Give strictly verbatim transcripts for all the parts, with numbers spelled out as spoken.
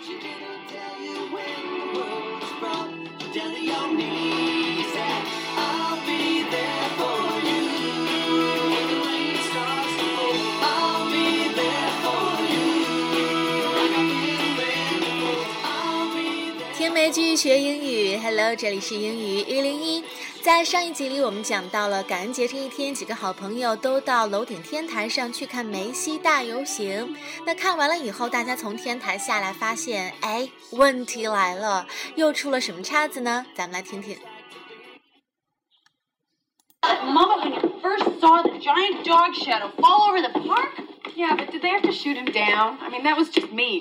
天梅继续学英语 Hello， 这里是英语一零一。在上一集里我们讲到了感恩节这一天，几个好朋友都到楼顶天台上去看梅西大游行。那看完了以后，大家从天台下来发现，哎，问题来了，又出了什么岔子呢？咱们来听听。 Mama, when you first saw the giant dog shadow fall over the park? Yeah, but did they have to shoot him down? I mean, that was just mean.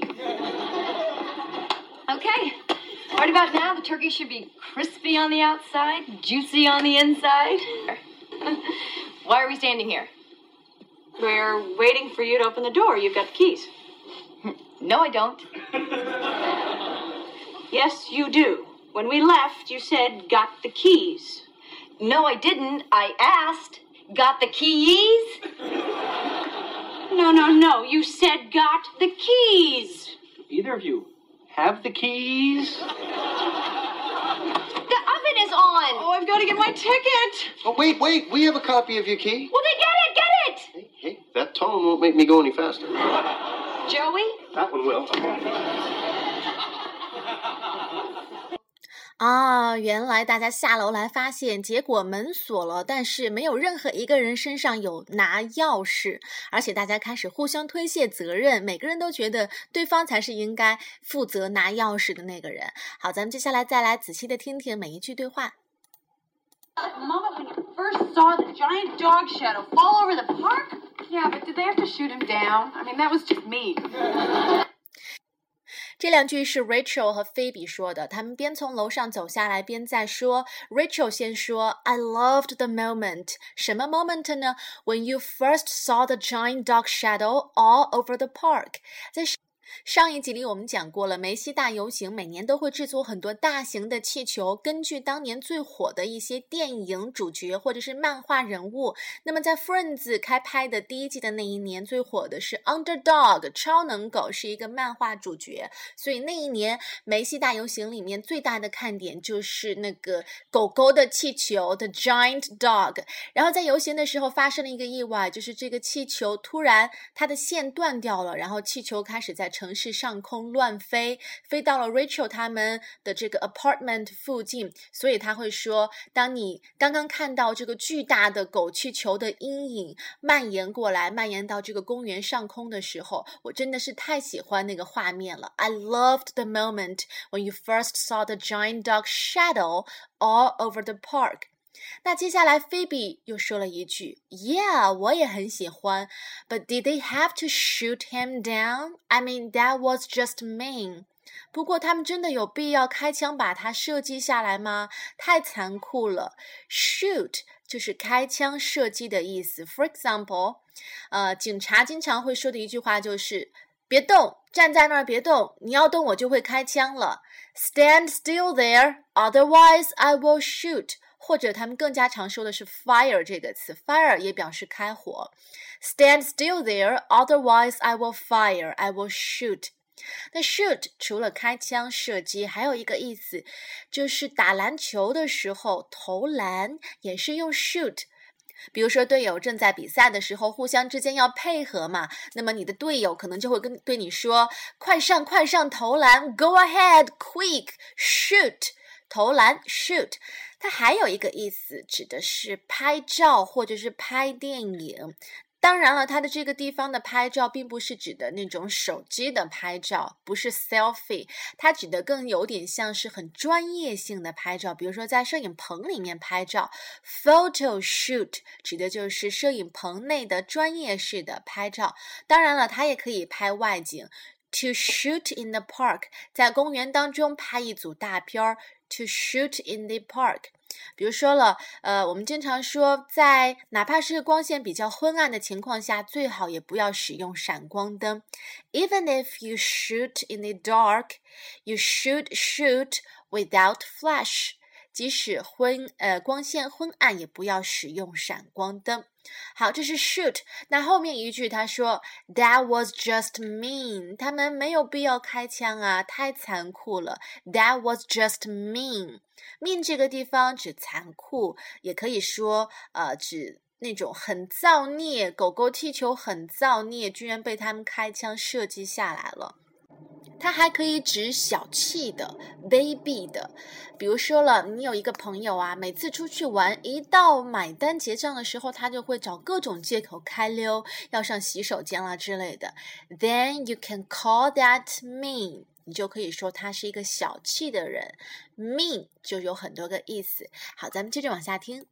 Okay. Right about now, the turkey should be crispy on the outside, juicy on the inside. Why are we standing here? We're waiting for you to open the door. You've got the keys. No, I don't. Yes, you do. When we left, you said, got the keys. No, I didn't. I asked, got the keys? No, no, no. You said, got the keys. Either of you have the keys? The oven is on. Oh, I've got to get my ticket. Oh, wait, wait. We have a copy of your key. Well, then get it, get it. Hey, hey, that tone won't make me go any faster. Joey? That one will. 啊，原来大家下楼来发现，结果门锁了，但是没有任何一个人身上有拿钥匙，而且大家开始互相推卸责任，每个人都觉得对方才是应该负责拿钥匙的那个人。好，咱们接下来再来仔细的听听每一句对话。 Mama, when you first saw the giant dog shadow fall over the park? Yeah, but did they have to shoot him down? I mean, that was just mean. 这两句是 Rachel 和 Phoebe 说的，他们边从楼上走下来边在说。Rachel 先说 I loved the moment， 什么 moment 呢？ When you first saw the giant dog shadow all over the park。 在上一集里我们讲过了，梅西大游行每年都会制作很多大型的气球，根据当年最火的一些电影主角或者是漫画人物。那么在 Friends 开拍的第一季的那一年，最火的是 Underdog 超能狗，是一个漫画主角，所以那一年梅西大游行里面最大的看点就是那个狗狗的气球 The Giant Dog。 然后在游行的时候发生了一个意外，就是这个气球突然它的线断掉了，然后气球开始在城市上空乱飞，飞到了 Rachel 他们的这个 apartment 附近，所以他会说，当你刚刚看到这个巨大的狗气球的阴影蔓延过来，蔓延到这个公园上空的时候，我真的是太喜欢那个画面了。 I loved the moment when you first saw the giant dog shadow all over the park。那接下来 Phoebe 又说了一句 Yeah, 我也很喜欢 But did they have to shoot him down? I mean, that was just mean. 不过他们真的有必要开枪把他射击下来吗？太残酷了。 Shoot 就是开枪射击的意思。 For example, 呃，警察经常会说的一句话就是别动，站在那儿别动，你要动我就会开枪了。 Stand still there, otherwise I will shoot。或者他们更加常说的是 fire 这个词， fire 也表示开火。 Stand still there, otherwise I will fire, I will shoot。 那 shoot 除了开枪射击，还有一个意思就是打篮球的时候投篮也是用 shoot。比如说队友正在比赛的时候互相之间要配合嘛，那么你的队友可能就会跟对你说快上快上投篮 Go ahead, quick, shoot。 投篮 shoot。 它还有一个意思指的是拍照或者是拍电影。当然了，它的这个地方的拍照并不是指的那种手机的拍照，不是 selfie， 它指的更有点像是很专业性的拍照，比如说在摄影棚里面拍照。 Photo shoot 指的就是摄影棚内的专业式的拍照。当然了，它也可以拍外景。To shoot in the park 在公园当中拍一组大片。To shoot in the park 比如说了呃，我们经常说在哪怕是光线比较昏暗的情况下，最好也不要使用闪光灯。 Even if you shoot in the dark, you should shoot without flash。 即使昏呃光线昏暗，也不要使用闪光灯。好，这是 shoot。那后面一句他说 That was just mean， 他们没有必要开枪啊，太残酷了。That was just mean。 mean 这个地方指残酷，也可以说呃指那种很造孽，狗狗踢球很造孽，居然被他们开枪射击下来了。它还可以指小气的、卑鄙的。比如说了，你有一个朋友啊，每次出去玩，一到买单结账的时候，他就会找各种借口开溜，要上洗手间啦之类的。Then you can call that mean。你就可以说他是一个小气的人。mean 就有很多个意思。好，咱们接着往下听。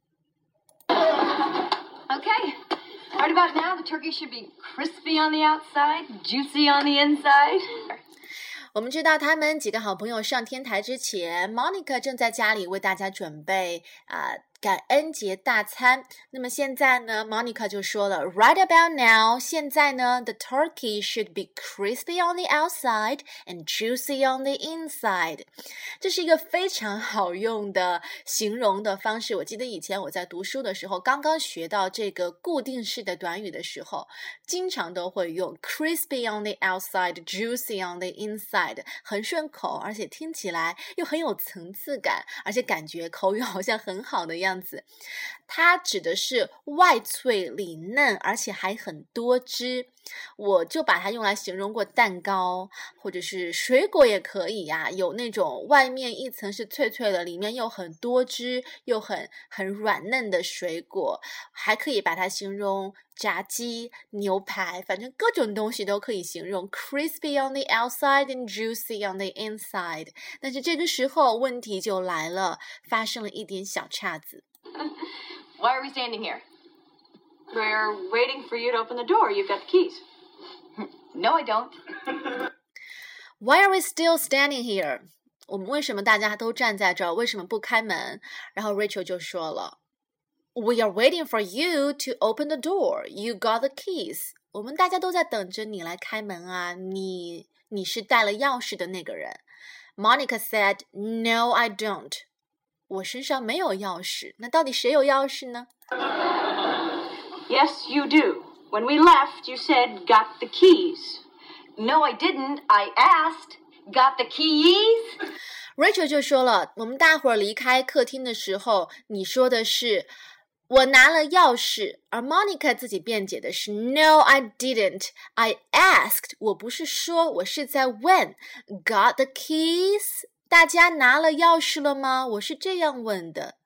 Okay. Right about now, the turkey should be crispy on the outside, juicy on the inside. 我们知道他们几个好朋友上天台之前 Monica 正在家里为大家准备啊、呃、感恩节大餐。那么现在呢 Monica 就说了 Right about now， 现在呢 The turkey should be crispy on the outside and juicy on the inside。 这是一个非常好用的形容的方式。我记得以前我在读书的时候，刚刚学到这个固定式的短语的时候，经常都会用 crispy on the outside, juicy on the inside，很顺口，而且听起来又很有层次感，而且感觉口语好像很好的样子。它指的是外脆里嫩，而且还很多汁。我就把它用来形容过蛋糕，或者是水果也可以呀、啊，有那种外面一层是脆脆的，里面又很多汁，又很很软嫩的水果。还可以把它形容炸鸡、牛排，反正各种东西都可以形容 crispy on the outside and juicy on the inside。 但是这个时候问题就来了，发生了一点小岔子。 Why are we standing here? We're waiting for you to open the door. You've got the keys. No, I don't. Why are we still standing here? 我们为什么大家都站在这儿？为什么不开门？然后 Rachel 就说了 We are waiting for you to open the door. You got the keys. 我们大家都在等着你来开门啊，你你是带了钥匙的那个人。Monica said, No, I don't. 我身上没有钥匙。那到底谁有钥匙呢？ Yes, you do. When we left, you said, got the keys. No, I didn't. I asked. Got the keys? Rachel 就说了，我们大伙儿离开客厅的时候，你说的是我拿了钥匙，而 Monica 自己辩解的是 No, I didn't. I asked. 我不是说，我是在问 Got the keys? 大家拿了钥匙了吗？我是这样问的。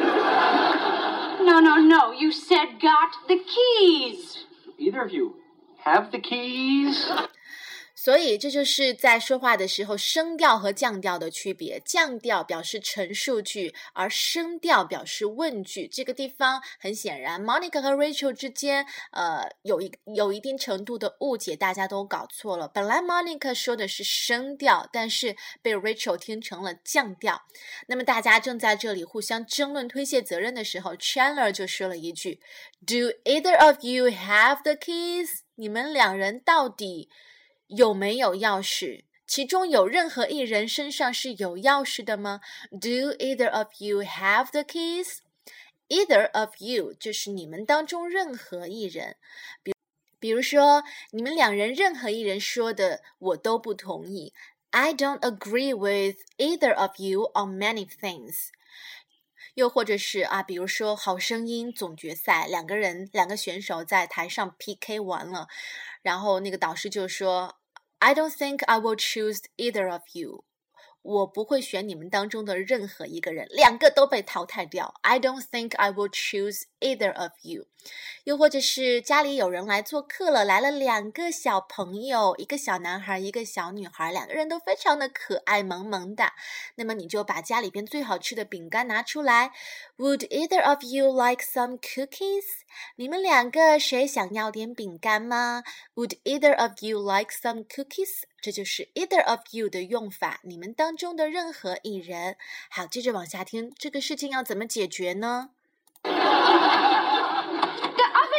No, no, no. You said got the keys. Either of you have the keys? 所以这就是在说话的时候声调和降调的区别。降调表示陈述句，而声调表示问句。这个地方很显然 Monica 和 Rachel 之间呃有一有一定程度的误解，大家都搞错了。本来 Monica 说的是声调，但是被 Rachel 听成了降调。那么大家正在这里互相争论推卸责任的时候， Chandler 就说了一句 Do either of you have the keys? 你们两人到底有没有钥匙？其中有任何一人身上是有钥匙的吗？ Do either of you have the keys? Either of you 就是你们当中任何一人。比比如说你们两人任何一人说的我都不同意。 I don't agree with either of you on many things。又或者是啊，比如说好声音总决赛，两个人两个选手在台上 P K 完了，然后那个导师就说 I don't think I will choose either of you。 我不会选你们当中的任何一个人，两个都被淘汰掉。 I don't think I will choose either of you。 又或者是家里有人来做客了，来了两个小朋友，一个小男孩一个小女孩，两个人都非常的可爱萌萌的，那么你就把家里边最好吃的饼干拿出来。 Would either of you like some cookies? 你们两个谁想要点饼干吗？ Would either of you like some cookies? 这就是 either of you 的用法，你们当中的任何一人。好，接着往下听，这个事情要怎么解决呢？ The oven is on.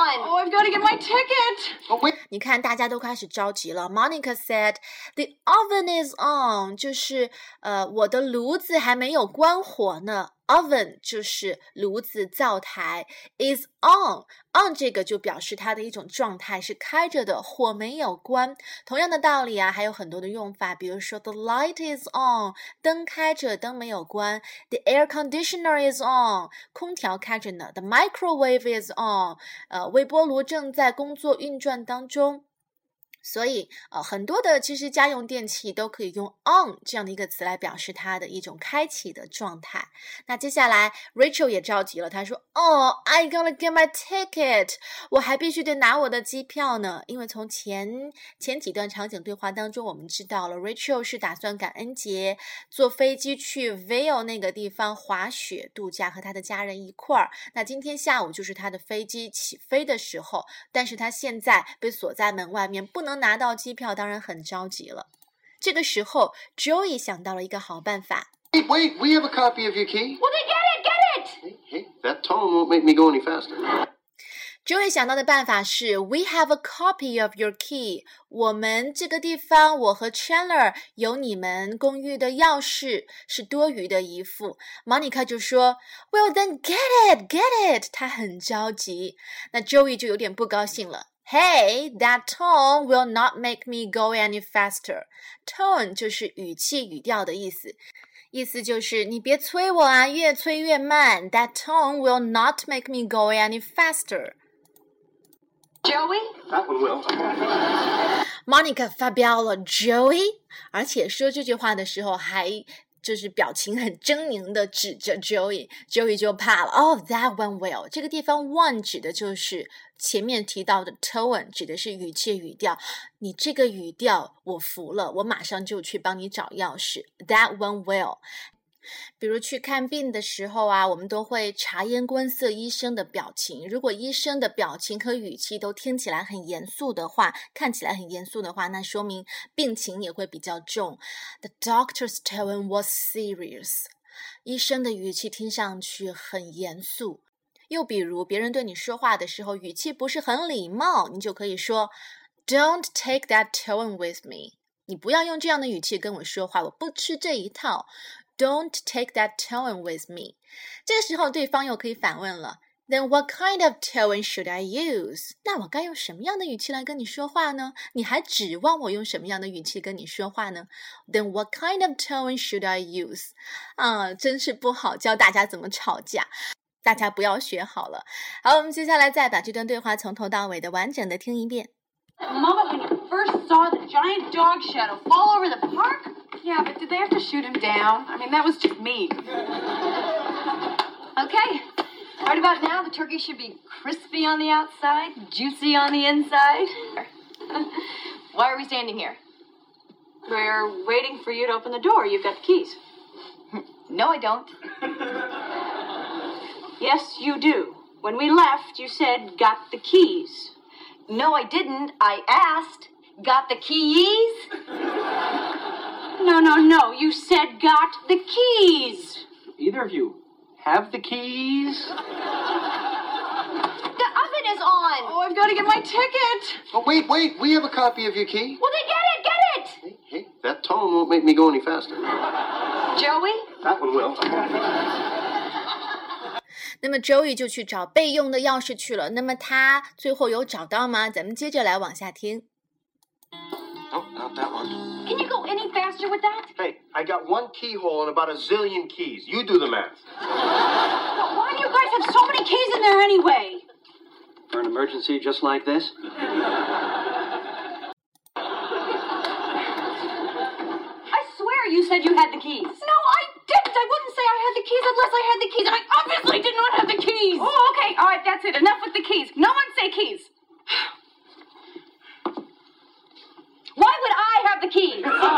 on. Oh, I've got to get my ticket. Oh, wait. 你看，大家都开始着急了。Monica said, "The oven is on." 就是呃，我的炉子还没有关火呢。Oven 就是炉子、灶台 ，is on on 这个就表示它的一种状态是开着的，火没有关。同样的道理啊，还有很多的用法，比如说 The light is on， 灯开着，灯没有关。The air conditioner is on， 空调开着呢。The microwave is on， 呃，微波炉正在工作运转当中。所以呃，很多的其实家用电器都可以用 on 这样的一个词来表示它的一种开启的状态。那接下来 Rachel 也着急了，她说 Oh, I gotta get my ticket， 我还必须得拿我的机票呢。因为从前前几段场景对话当中我们知道了 Rachel 是打算感恩节坐飞机去 Vail 那个地方滑雪度假，和他的家人一块儿。那今天下午就是他的飞机起飞的时候，但是他现在被锁在门外面，不能拿到机票，当然很着急了。这个时候 Joey 想到了一个好办法。 Wait, wait, we have a copy of your key. Well, then get it, get it! Hey, hey, that tone won't make me go any faster. Joey 想到的办法是 We have a copy of your key. 我们这个地方，我和 Chandler 有你们公寓的钥匙，是多余的一副。Monica 就说 Well, then get it, get it. 他很着急。那 Joey 就有点不高兴了。Hey, that tone will not make me go any faster. Tone 就是语气、语调的意思，意思就是你别催我啊，越催越慢。That tone will not make me go any faster. Joey? That one will. Monica 发飙了 Joey， 而且说这句话的时候还就是表情很狰狞的指着 Joey， Joey 就怕了。Oh, that one will. 这个地方 one 指的就是前面提到的 tone， 指的是语气语调。你这个语调我服了，我马上就去帮你找钥匙。That one will。比如去看病的时候啊，我们都会察言观色医生的表情。如果医生的表情和语气都听起来很严肃的话，看起来很严肃的话，那说明病情也会比较重。The doctor's tone was serious. 医生的语气听上去很严肃。又比如别人对你说话的时候，语气不是很礼貌，你就可以说 Don't take that tone with me. 你不要用这样的语气跟我说话，我不吃这一套。Don't take that tone with me. 这个时候对方又可以反问了 Then what kind of tone should I use? 那我该用什么样的语气来跟你说话呢？你还指望我用什么样的语气跟你说话呢？ Then what kind of tone should I use? 啊，真是不好教大家怎么吵架，大家不要学好了。好，我们接下来再把这段对话从头到尾的完整的听一遍。 Mama, when you first saw the giant dog shadow fall over the park? Yeah, but did they have to shoot him down? I mean, that was just mean. Okay. Right about now, the turkey should be crispy on the outside, juicy on the inside. Why are we standing here? We're waiting for you to open the door. You've got the keys. No, I don't. Yes, you do. When we left, you said, got the keys. No, I didn't. I asked. Got the keys? No, no, no. You said, got the keys. Either of you have the keys? The oven is on. Oh, I've got to get my ticket. Oh, wait, wait, we have a copy of your key. Well, then get it, get it. Hey, hey, that tone won't make me go any faster. Joey? That one will. 那么 Joey 就去找备用的钥匙去了。那么他最后有找到吗？咱们接着来往下听。 Oh, not that one. Can you go any faster with that? Hey, I got one keyhole and about a zillion keys. You do the math. But why do you guys have so many keys in there anyway? For an emergency just like this? I swear you said you had the keys. No, I didn't. I wouldn't say I had the keys unless I had the keys. And I obviously did not have the keys. Oh, okay. All right, that's it. Enough with the keys. No one say keys. Why would I have the keys?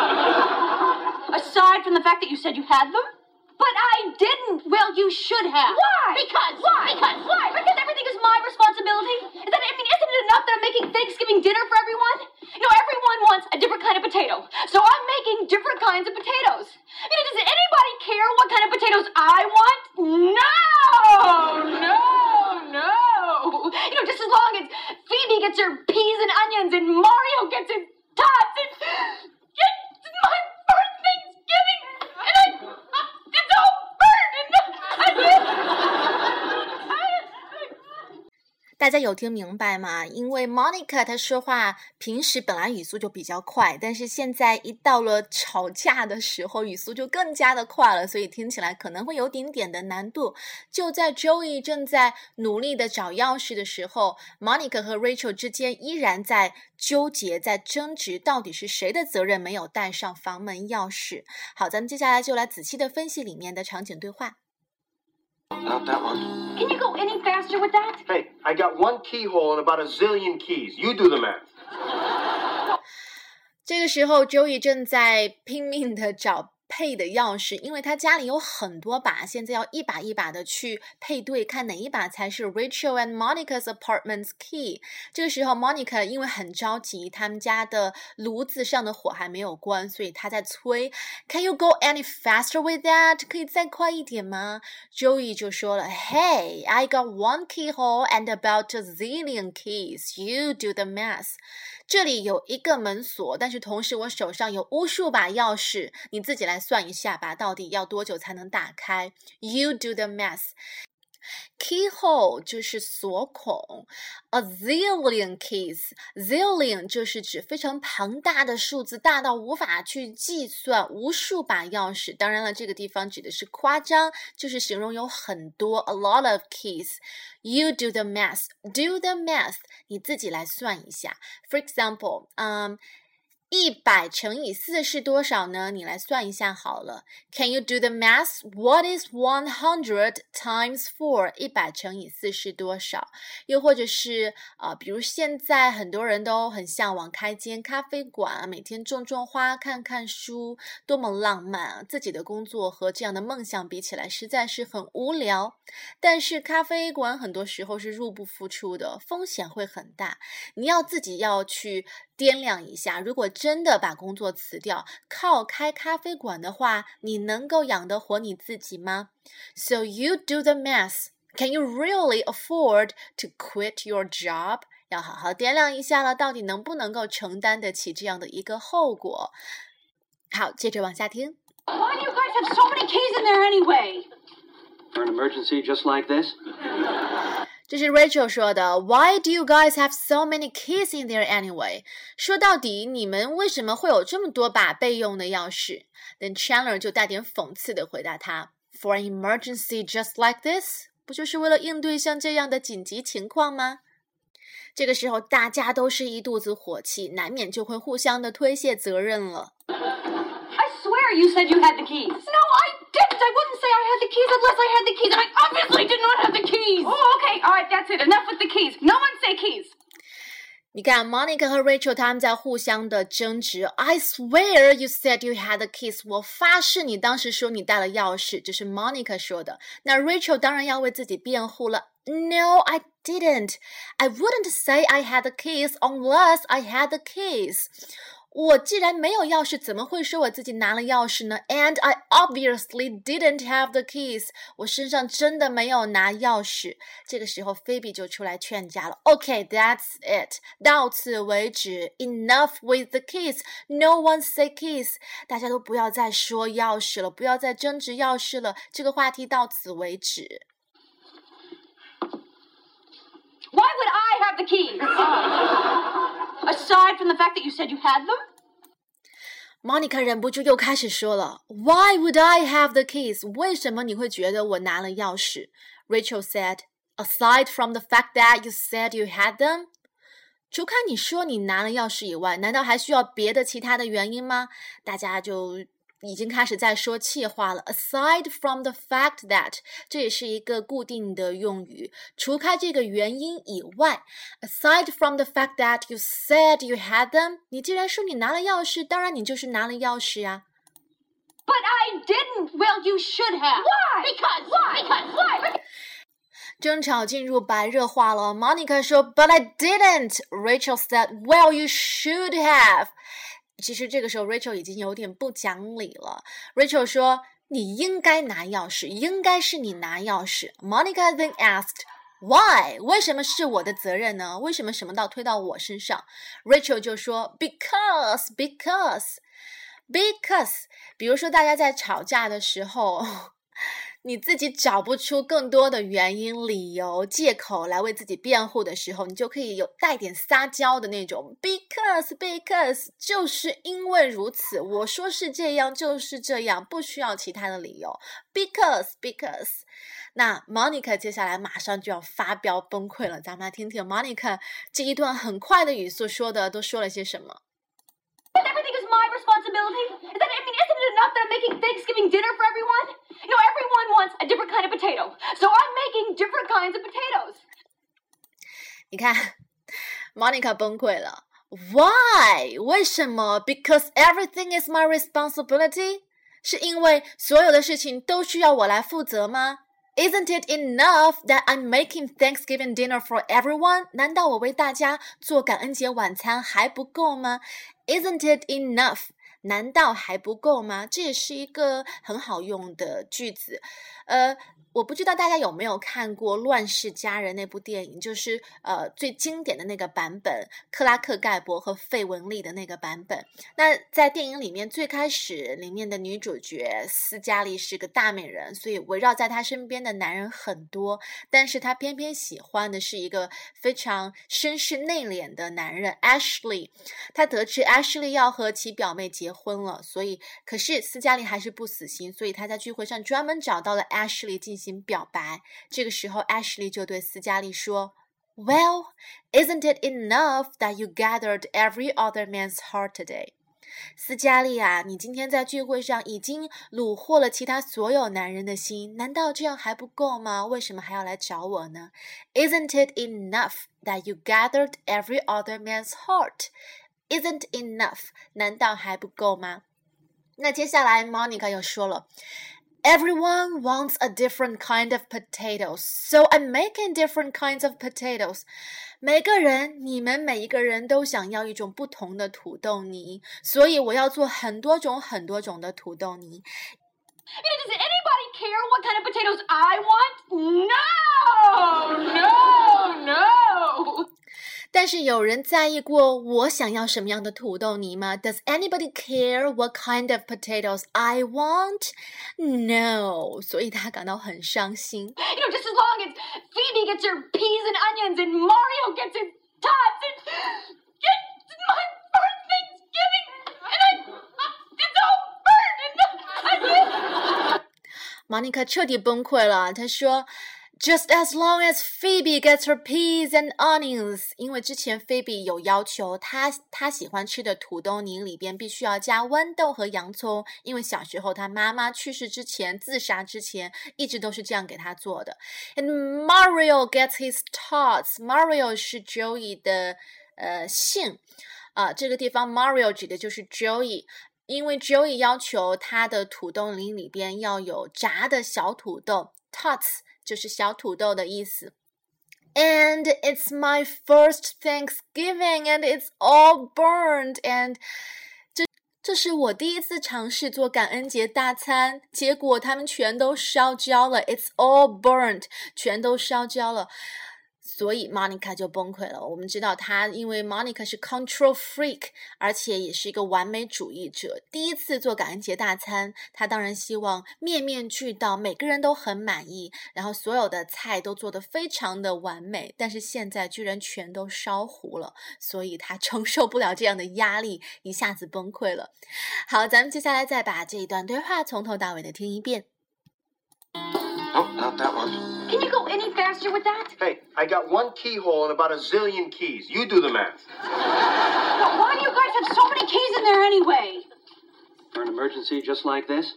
Aside from the fact that you said you had them? But I didn't. Well, you should have. Why? Because. Why? Because. Why? Because everything is my responsibility. Is that, I mean, isn't it enough that I'm making Thanksgiving dinner for everyone? You know, everyone wants a different kind of potato. So I'm making different kinds of potatoes. I mean, does anybody care what kind of potatoes I want? No! No! No! You know, just as long as gets her peas and onions, and Mario gets his tots, and it's my first Thanksgiving, and I, it's all burnt, and I can't. 大家有听明白吗？因为 Monica 她说话平时本来语速就比较快，但是现在一到了吵架的时候，语速就更加的快了，所以听起来可能会有点点的难度。就在 Joey 正在努力的找钥匙的时候， Monica 和 Rachel 之间依然在纠结，在争执到底是谁的责任没有带上房门钥匙。好，咱们接下来就来仔细的分析里面的场景对话。 Not that one. Can you go any faster with that? Hey, I got one keyhole and about a zillion keys. You do the math. 这个时候 Joey 正在拼命的找配的钥匙，因为他家里有很多把，现在要一把一把的去配对，看哪一把才是 Rachel and Monica's apartment's key。 这个时候 Monica 因为很着急，他们家的炉子上的火还没有关，所以他在催 Can you go any faster with that？ 可以再快一点吗？ Joey 就说了 Hey, I got one keyhole and about a zillion keys. You do the math。 这里有一个门锁，但是同时我手上有无数把钥匙，你自己来算一下吧，到底要多久才能打开？ You do the math。 Keyhole 就是锁孔， a zillion keys， zillion 就是指非常庞大的数字，大到无法去计算，无数把钥匙。当然了，这个地方指的是夸张，就是形容有很多 a lot of keys。 You do the math， do the math， 你自己来算一下。 For example， 嗯一百乘以四是多少呢？你来算一下好了。 Can you do the math? What is one hundred times four? 一百乘以四是多少？又或者是呃，比如现在很多人都很向往开间咖啡馆，每天种种花，看看书，多么浪漫啊！自己的工作和这样的梦想比起来实在是很无聊。但是咖啡馆很多时候是入不敷出的，风险会很大，你要自己要去掂量一下，如果真的把工作辞掉，靠开咖啡馆的话，你能够养得活你自己吗？ So you do the math. Can you really afford to quit your job? 要好好掂量一下了，到底能不能够承担得起这样的一个后果。好，接着往下听。 Why do you guys have so many keys in there anyway? For an emergency just like this? 这是 Rachel 说的 Why do you guys have so many keys in there anyway? 说到底，你们为什么会有这么多把备用的钥匙？ Then Chandler 就带点讽刺地回答他 For an emergency just like this? 不就是为了应对像这样的紧急情况吗？这个时候大家都是一肚子火气，难免就会互相的推卸责任了。 I swear you said you had the keys. No, I didn't. I wouldn't say I had the keys unless I had the keys, and I obviously did not have the keys. Oh, okay. All right, that's it. Enough with the keys. No one say keys. 你看 Monica 和 Rachel 他们在互相的争执 I swear you said you had the keys 我发誓你当时说你带了钥匙，这是 Monica 说的。那 Rachel 当然要为自己辩护了 No, I didn't. I wouldn't say I had the keys unless I had the keys. 我既然没有钥匙，怎么会说我自己拿了钥匙呢？ And I obviously didn't have the keys. 我身上真的没有拿钥匙。这个时候 Phoebe 就出来劝架了。Okay, that's it. 到此为止。Enough with the keys. No one say keys. 大家都不要再说钥匙了，不要再争执钥匙了。这个话题到此为止。 Why would I have the keys? Aside from the fact that you said you had them? Monica 忍不住又开始说了 Why would I have the keys? 为什么你会觉得我拿了钥匙？ Rachel said, Aside from the fact that you said you had them? 除开你说你拿了钥匙以外，难道还需要别的其他的原因吗？大家就已经开始在说气话了 Aside from the fact that 这也是一个固定的用语，除开这个原因以外 Aside from the fact that you said you had them 你既然说你拿了钥匙，当然你就是拿了钥匙啊。 But I didn't. Well, you should have. Why? Because. Why? Because. Why? 争吵进入白热化了 Monica 说 But I didn't. Rachel said Well, you should have. 其实这个时候 Rachel 已经有点不讲理了 Rachel 说你应该拿钥匙，应该是你拿钥匙 Monica then asked Why？ 为什么是我的责任呢？为什么什么都推到我身上？ Rachel 就说 Because, because, because 比如说大家在吵架的时候你自己找不出更多的原因、理由、借口来为自己辩护的时候，你就可以有带点撒娇的那种 Because, because 就是因为如此，我说是这样就是这样，不需要其他的理由 Because, because 那 Monica 接下来马上就要发飙崩溃了，咱们来听听 Monica 这一段很快的语速说的都说了些什么。 But everything is my responsibility. Is that, I mean, isn't it enough that I'm making Thanksgiving dinner for everyone? You know, everyone wants a different kind of potato. So I'm making different kinds of potatoes. 你看 Monica 崩溃了 Why? 为什么 Because everything is my responsibility? 是因为所有的事情都需要我来负责吗？ Isn't it enough that I'm making Thanksgiving dinner for everyone? 难道我为大家做感恩节晚餐还不够吗？ Isn't it enough? 难道还不够吗？这也是一个很好用的句子。呃，我不知道大家有没有看过《乱世佳人》那部电影，就是呃最经典的那个版本，克拉克盖博和费雯丽的那个版本。那在电影里面最开始里面的女主角斯嘉丽是个大美人，所以围绕在她身边的男人很多，但是她偏偏喜欢的是一个非常绅士内敛的男人 Ashley。 她得知 Ashley 要和其表妹结婚了，所以可是斯嘉丽还是不死心，所以她在聚会上专门找到了 Ashley 进行表白。这个时候 Ashley 就对斯嘉丽说 Well, isn't it enough that you gathered every other man's heart today? 斯嘉丽啊，你今天在聚会上已经虏获了其他所有男人的心，难道这样还不够吗？为什么还要来找我呢？ Isn't it enough that you gathered every other man's heart? Isn't enough 难道还不够吗？那接下来 Monica 又说了Everyone wants a different kind of potatoes, so I'm making different kinds of potatoes. 每个人，你们每一个人都想要一种不同的土豆泥，所以我要做很多种很多种的土豆泥。 I mean, does anybody care what kind of potatoes I want? No! No! No! 但是有人在意过我想要什么样的土豆泥吗？ Does anybody care what kind of potatoes I want? No. 所以他感到很伤心。 You know, just as long as Phoebe gets her peas and onions and Mario gets his tots and it's my first Thanksgiving and I, it's all burned and I Monica 彻底崩溃了，她说Just as long as Phoebe gets her peas and onions. 因为之前 Phoebe 有要求她她喜欢吃的土豆泥里边必须要加豌豆和洋葱，因为小时候她妈妈去世之前自杀之前一直都是这样给她做的。And Mario gets his tots. Mario 是 Joey 的呃姓啊、呃，这个地方 Mario 指的就是 Joey。因为 Joey 要求他的土豆泥里边要有炸的小土豆 tots 就是小土豆的意思。 And it's my first Thanksgiving and it's all burned and 这这是我第一次尝试做感恩节大餐，结果他们全都烧焦了。 It's all burned 全都烧焦了，所以 Monica 就崩溃了。我们知道她因为 Monica 是 control freak， 而且也是一个完美主义者，第一次做感恩节大餐，她当然希望面面俱到，每个人都很满意，然后所有的菜都做得非常的完美，但是现在居然全都烧糊了，所以她承受不了这样的压力，一下子崩溃了。好，咱们接下来再把这一段对话从头到尾的听一遍。 Oh, not that one. Can you go any faster with that? Hey, I got one keyhole and about a zillion keys. You do the math. But why do you guys have so many keys in there anyway? For an emergency just like this?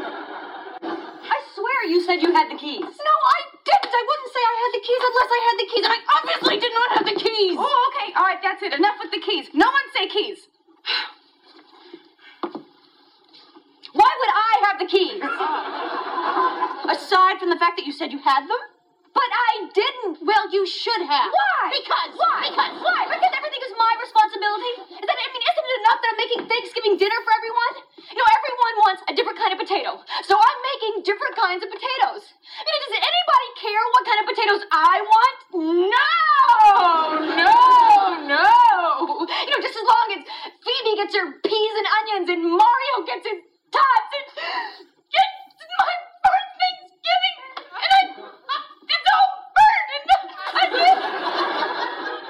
I swear you said you had the keys. No, I didn't. I wouldn't say I had the keys unless I had the keys, and I obviously did not have the keys. Oh, okay. All right, that's it. Enough with the keys. No one say keys. Why would I have the keys? Aside from the fact that you said you had them? But I didn't. Well, you should have. Why? Because. Why? Because. Why? Because everything is my responsibility. Is that, I mean, isn't it enough that I'm making Thanksgiving dinner for everyone? You know, everyone wants a different kind of potato. So I'm making different kinds of potatoes. I mean, does anybody care what kind of potatoes I want? gets her peas and onions, and Mario gets his tots, and it's my first Thanksgiving, and I, it's all burnt, and I can't.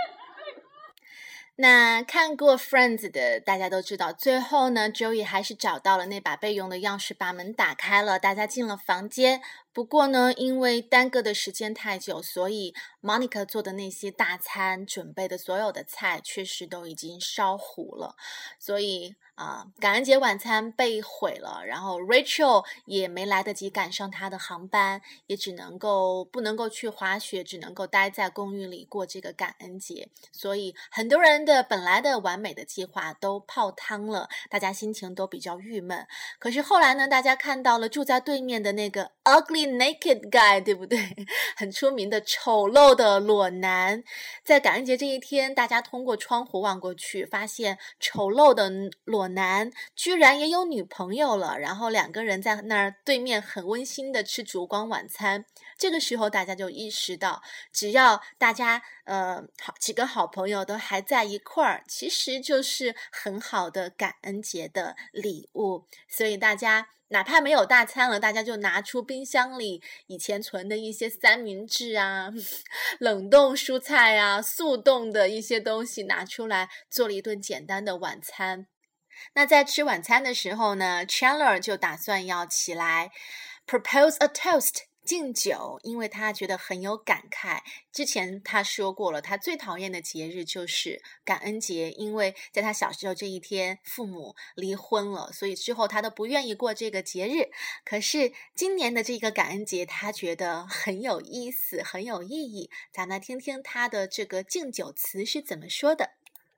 那看过 Friends 的大家都知道，最后呢 Joey 还是找到了那把备用的钥匙，把门打开了，大家进了房间。不过呢，因为耽搁的时间太久，所以 Monica 做的那些大餐，准备的所有的菜确实都已经烧糊了，所以啊、呃，感恩节晚餐被毁了，然后 Rachel 也没来得及赶上她的航班，也只能够不能够去滑雪，只能够待在公寓里过这个感恩节，所以很多人的本来的完美的计划都泡汤了，大家心情都比较郁闷。可是后来呢，大家看到了住在对面的那个 ugly naked guy， 对不对？很出名的丑陋的裸男。在感恩节这一天，大家通过窗户望过去，发现丑陋的裸男居然也有女朋友了，然后两个人在那儿对面很温馨的吃烛光晚餐。这个时候大家就意识到，只要大家呃好几个好朋友都还在一块儿，其实就是很好的感恩节的礼物。所以大家哪怕没有大餐了，大家就拿出冰箱里以前存的一些三明治啊、冷冻蔬菜啊、速冻的一些东西拿出来，做了一顿简单的晚餐。那在吃晚餐的时候呢 Chandler 就打算要起来 propose a toast，敬酒，因为他觉得很有感慨。之前他说过了，他最讨厌的节日就是感恩节，因为在他小时候这一天父母离婚了，所以之后他都不愿意过这个节日。可是今年的这个感恩节他觉得很有意思，很有意义。咱们来听听他的这个敬酒词是怎么说的。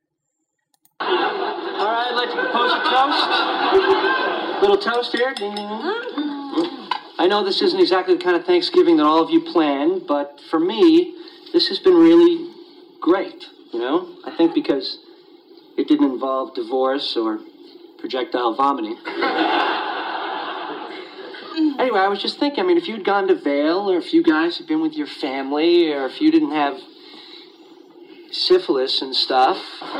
All right, I'd like to propose a toast. Little toast here. Ding, ding, ding. I know this isn't exactly the kind of Thanksgiving that all of you planned, but for me, this has been really great, you know? I think because it didn't involve divorce or projectile vomiting. Anyway, I was just thinking, I mean, if you'd gone to Vail, or if you guys had been with your family, or if you didn't have syphilis and stuff,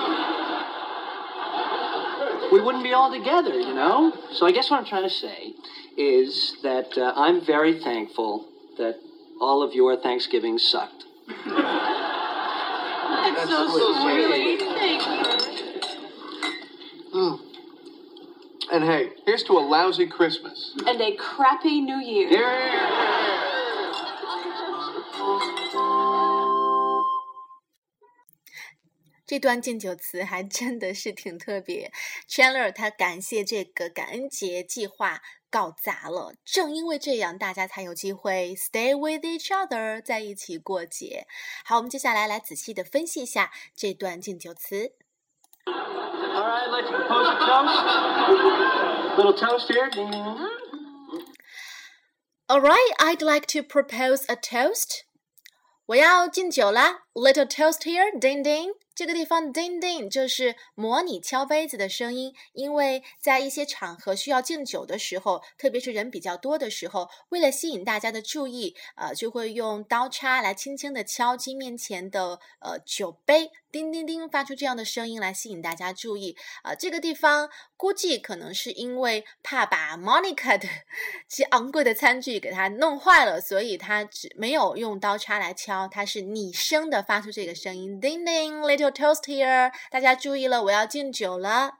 we wouldn't be all together, you know? So I guess what I'm trying to say is that uh, I'm very thankful that all of your Thanksgivings sucked. That's, That's so, so sweet. Thank you. Mm. And hey, here's to a lousy Christmas. And a crappy New Year. Yeah. 这段敬酒词还真的是挺特别。Chandler 他感谢这个感恩节计划搞砸了，正因为这样，大家才有机会 stay with each other， 在一起过节。好，我们接下来来仔细的分析一下这段敬酒词。 All right, I'd like to propose a toast. Little toast here. Ding, ding, ding. All right, I'd like to propose a toast. 我要敬酒啦 Little toast here, ding ding. 这个地方 ding ding 就是模拟敲杯子的声音，因为在一些场合需要敬酒的时候，特别是人比较多的时候，为了吸引大家的注意，呃，就会用刀叉来轻轻的敲击面前的呃酒杯，叮叮叮发出这样的声音来吸引大家注意。呃，这个地方估计可能是因为怕把 Monica 的这昂贵的餐具给它弄坏了，所以他只没有用刀叉来敲，他是拟声的发出这个声音 ding ding little toast here， 大家注意了，我要敬酒了。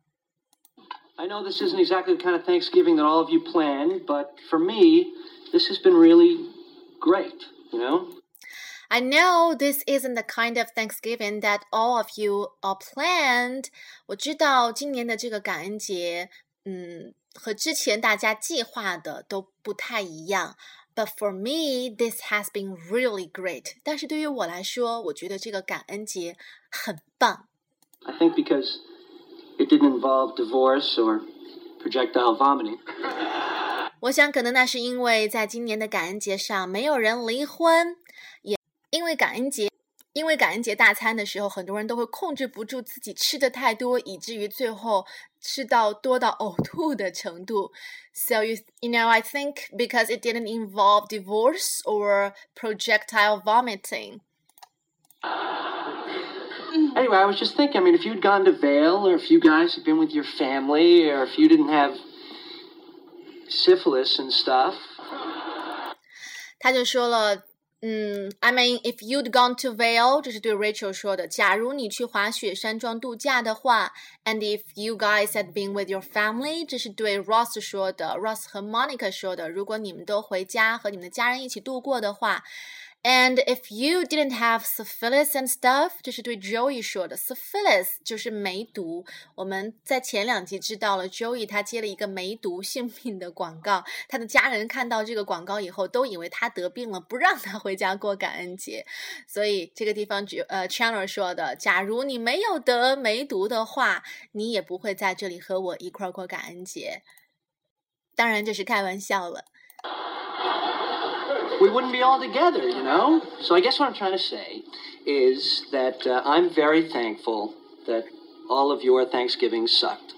I know this isn't exactly the kind of Thanksgiving that all of you planned, but for me, this has been really great, you know? I know this isn't the kind of Thanksgiving that all of you are planned. 我知道今年的这个感恩节，嗯，和之前大家计划的都不太一样。But for me, this has been really great. 但是对于我来说，我觉得这个感恩节很棒。 I think because it didn't involve divorce or projectile vomiting. 我想可能那是因为在今年的感恩节上没有人离婚，也因为感恩节因为感恩节大餐的时候，很多人都会控制不住自己吃的太多，以至于最后吃到多到嘔吐的程度。So you, you know, I think because it didn't involve divorce or projectile vomiting. Anyway, Anyway, I was just thinking, I mean, if you'd gone to Vail, or if you guys had been with your family, or if you didn't have syphilis and stuff. 他就说了，嗯 I mean, if you'd gone to Vail, 这是对 Rachel 说的，假如你去滑雪山庄度假的话 and if you guys had been with your family, 这是对 Ross 说的 Ross 和 Monica 说的，如果你们都回家和你们的家人一起度过的话And if you didn't have syphilis and stuff, 这是对 Joey 说的 syphilis 就是梅毒，我们在前两集知道了 Joey 他接了一个梅毒性病的广告，他的家人看到这个广告以后都以为他得病了，不让他回家过感恩节，所以这个地方呃 Chandler 说的，假如你没有得梅毒的话，你也不会在这里和我一块过感恩节，当然这是开玩笑了。 We wouldn't be all together, you know? So I guess what I'm trying to say is that uh, I'm very thankful that all of your Thanksgivings sucked.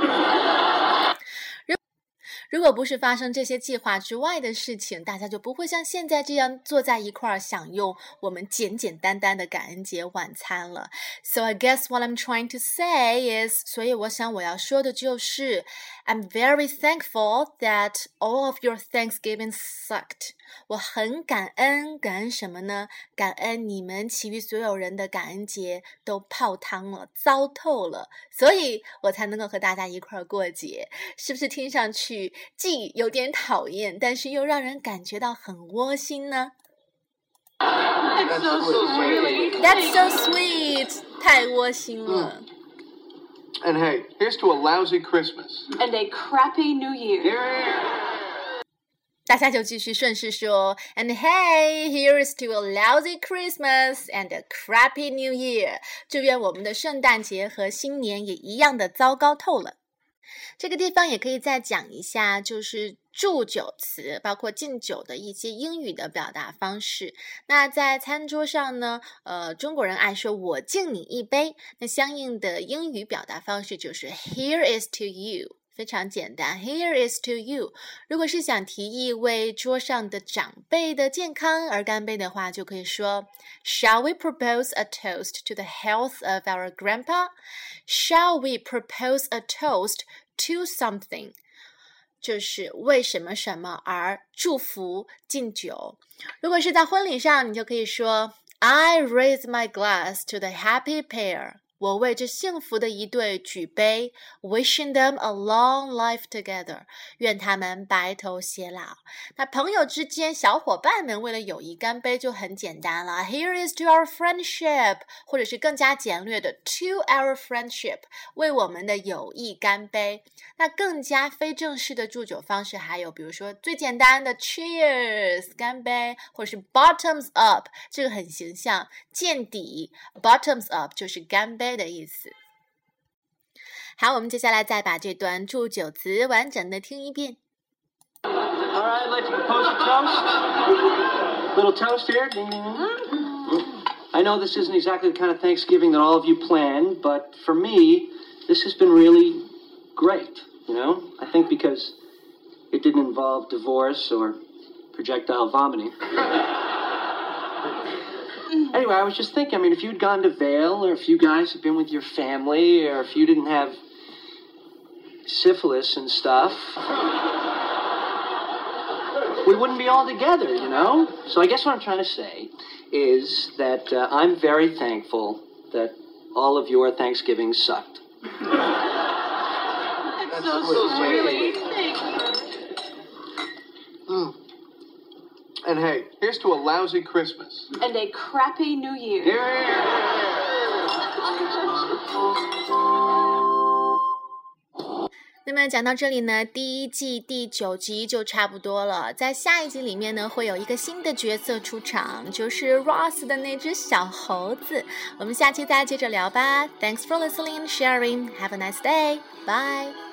如果不是发生这些计划之外的事情，大家就不会像现在这样坐在一块儿享用我们简简单单的感恩节晚餐了。So I guess what I'm trying to say is, 所以我想我要说的就是 I'm very thankful that all of your Thanksgiving sucked. 我很感恩，感恩什么呢？感恩你们其余所有人的感恩节都泡汤了，糟透了，所以我才能够和大家一块儿过节。是不是听上去既有点讨厌，但是又让人感觉到很窝心呢？ That's so sweet. That's so sweet. 太窝心了。 And hey, here's to a lousy Christmas. And a crappy New Year. 大家就继续顺势说 And hey, here's to a lousy Christmas and a crappy New Year. 祝愿我们的圣诞节和新年也一样的糟糕透了。这个地方也可以再讲一下，就是祝酒词，包括敬酒的一些英语的表达方式。那在餐桌上呢，呃，中国人爱说我敬你一杯，那相应的英语表达方式就是 Here is to you。非常简单 Here is to you 如果是想提议为桌上的长辈的健康而干杯的话，就可以说 Shall we propose a toast to the health of our grandpa? Shall we propose a toast to something? 就是为什么什么而祝福敬酒。如果是在婚礼上，你就可以说 I raise my glass to the happy pair我为这幸福的一对举杯 wishing them a long life together 愿他们白头偕老。那朋友之间小伙伴们为了友谊干杯就很简单了 Here is to our friendship 或者是更加简略的 to our friendship 为我们的友谊干杯。那更加非正式的祝酒方式还有比如说最简单的 cheers 干杯，或者是 bottoms up 这个很形象见底 bottoms up 就是干杯的意思。好，我们接下来再把这段祝酒词完整的听一遍。 All right, I'd like to propose a toast. Little toast here. Ding, ding, ding. I know this isn't exactly the kind of Thanksgiving that all of you planned, but for me, this has been really great, you know? I think because it didn't involve divorce or projectile vomiting. Anyway, I was just thinking, I mean, if you'd gone to Vail, or if you guys had been with your family, or if you didn't have syphilis and stuff, we wouldn't be all together, you know? So I guess what I'm trying to say is that uh, I'm very thankful that all of your Thanksgivings sucked. That's so sweet. Mm. And hey, here's to a lousy Christmas. And a crappy New Year. Yeah. 那么讲到这里呢，第一季第九集就差不多了。在下一集里面呢，会有一个新的角色出场，就是 Ross 的那只小猴子。我们下期再接着聊吧。Thanks for listening and sharing. Have a nice day. Bye.